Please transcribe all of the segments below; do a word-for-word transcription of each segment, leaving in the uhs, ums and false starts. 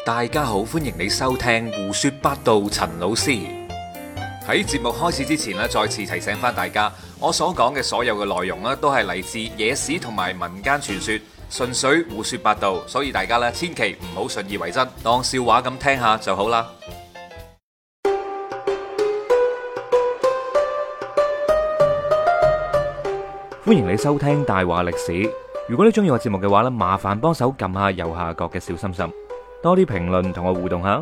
大家好，歡迎你收聽胡說八道。陳老師喺節目開始之前咧，再次提醒翻大家，我所講嘅所有嘅內容咧，都係嚟自野史同埋民間傳說，純粹胡說八道，所以大家咧千祈唔好信以為真，當笑話咁聽下就好啦。歡迎你收聽大話歷史。如果你中意我節目嘅話咧，麻煩幫手撳下右下角嘅小心心，多啲評論同我互動下。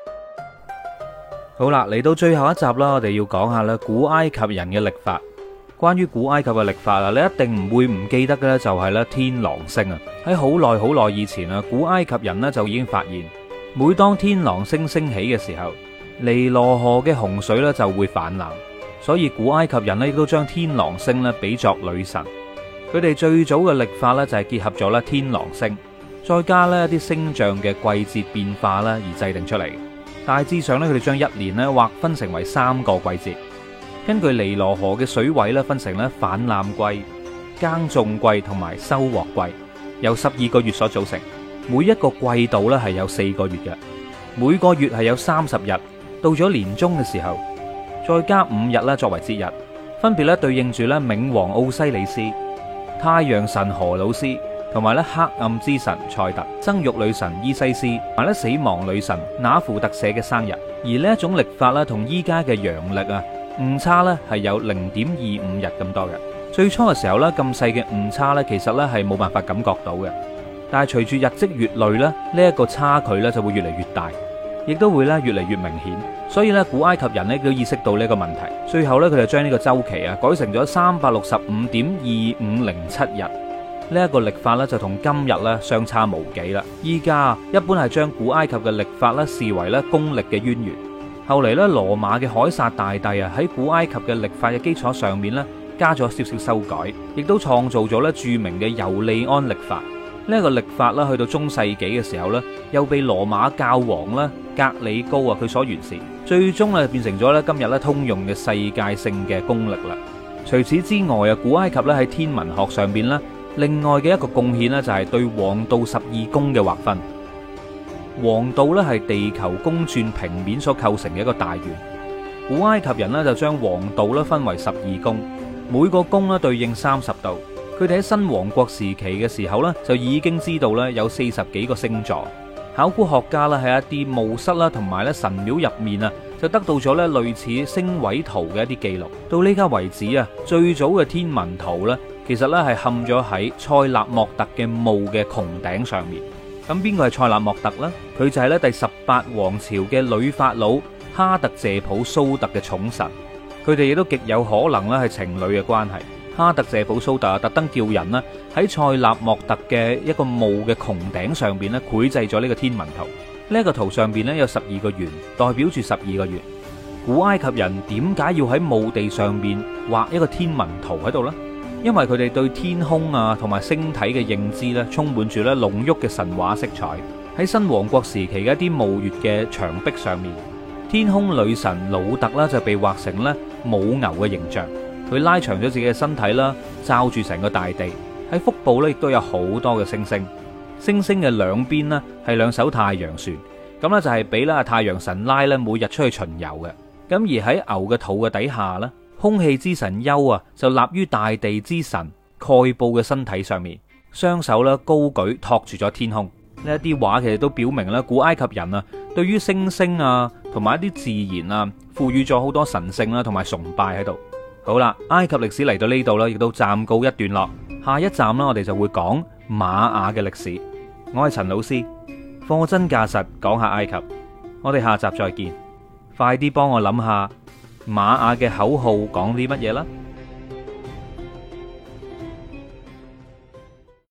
好啦，嚟到最後一集啦，我哋要講下咧古埃及人嘅曆法。關於古埃及嘅曆法啊，你一定唔會唔記得嘅咧，就係咧天狼星啊。喺好耐好耐以前啊，古埃及人咧就已經發現，每當天狼星升起嘅時候，尼羅河嘅洪水咧就會氾濫。所以古埃及人咧亦都將天狼星咧比作女神。佢哋最早嘅曆法咧就係結合咗咧天狼星，再加咧一啲星象嘅季節變化啦而制定出嚟。大致上咧，佢哋將一年咧劃分成為三個季節，根據尼羅河嘅水位咧分成咧泛濫季、耕種季同埋收穫季，由十二個月所組成。每一個季度咧係有四個月嘅，每個月係有三十日。到咗年終嘅時候，再加五日咧作為節日，分別咧對應住咧冥王奧西里斯、太陽神荷魯斯同埋咧黑暗之神塞特、生育女神伊西斯同埋咧死亡女神那芙特舍嘅生日。而呢一種曆法咧同依家嘅陽曆啊誤差咧係有零點二五日咁多嘅。最初嘅時候咧咁細嘅誤差咧其實咧係冇辦法感覺到嘅，但係隨住日積月累咧呢一個差距咧就會越嚟越大，亦都會咧越嚟越明顯。所以咧古埃及人咧都意識到呢個問題，最後咧佢就將呢個周期啊改成咗三百六十五點二五零七日。呢一個曆法咧就同今日咧相差無幾啦。依家一般係將古埃及嘅曆法咧視為咧公曆嘅淵源。後嚟咧羅馬嘅凱撒大帝啊喺古埃及嘅曆法嘅基礎上面咧加咗少少修改，亦都創造咗咧著名嘅尤利安曆法。呢一個曆法啦，去到中世紀嘅時候咧，又被羅馬教皇啦格里高啊佢所完善，最終咧變成咗咧今日咧通用嘅世界性嘅公曆啦。除此之外啊，古埃及咧喺天文學上邊咧，另外嘅一個貢獻咧就係對黃道十二宮嘅劃分。黃道咧係地球公轉平面所構成嘅一個大圓。古埃及人咧就將黃道咧分為十二宮，每個宮咧對應三十度。佢哋喺新王國時期嘅時候咧，就已經知道咧有四十幾個星座。考古學家啦喺一啲墓室啦同埋咧神廟入面啊，就得到咗咧類似星位圖嘅一啲記錄。到呢家為止啊，最早嘅天文圖咧，其實咧係嵌咗喺塞納莫特嘅墓嘅穹頂上面。咁邊個係塞納莫特呢？佢就係咧第十八王朝嘅女法老哈特謝普蘇特嘅寵臣。佢哋亦都極有可能咧係情侶嘅關係。哈特謝普蘇特特登叫人咧喺塞納莫特嘅一個墓嘅穹頂上邊咧繪製咗呢個天文圖。呢一個圖上邊咧有十二個圓，代表住十二個月。古埃及人點解要喺墓地上邊畫一個天文圖喺度呢？因為佢哋對天空啊同埋星體嘅認知咧充滿住咧濃郁嘅神話色彩。喺新王國時期嘅一啲墓穴嘅牆壁上面，天空女神魯特啦就被畫成咧母牛嘅形象。佢拉長咗自己嘅身體啦，罩住成個大地。喺腹部咧，亦都有好多嘅星星。星星嘅兩邊呢係兩艘太陽船，咁呢就係俾啦太陽神拉咧每日出去巡遊嘅。咁而喺牛嘅肚嘅底下呢，空氣之神丘啊就立於大地之神蓋布嘅身體上面，雙手咧高舉托住咗天空。呢一啲畫其實都表明咧古埃及人啊對於星星啊同埋一啲自然啊賦予咗好多神聖啦同埋崇拜喺度。好啦，埃及歷史嚟到呢度啦，亦都暫告一段落。下一站啦，我哋就會講瑪雅嘅歷史。我係陳老師，貨真價實講下埃及。我哋下集再見。快啲幫我諗下瑪雅嘅口號講啲乜嘢啦〜